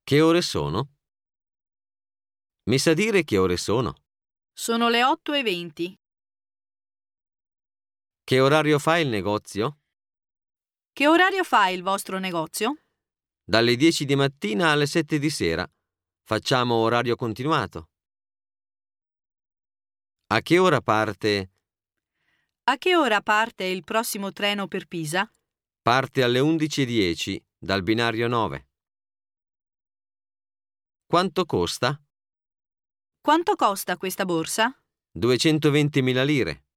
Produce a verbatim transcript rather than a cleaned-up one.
Che ore sono? Mi sa dire che ore sono? Sono le otto e venti. Che orario fa il negozio? Che orario fa il vostro negozio? Dalle dieci di mattina alle sette di sera. Facciamo orario continuato. A che ora parte? A che ora parte il prossimo treno per Pisa? Parte alle undici e dieci dal binario nove. Quanto costa? Quanto costa questa borsa? duecentoventimila lire.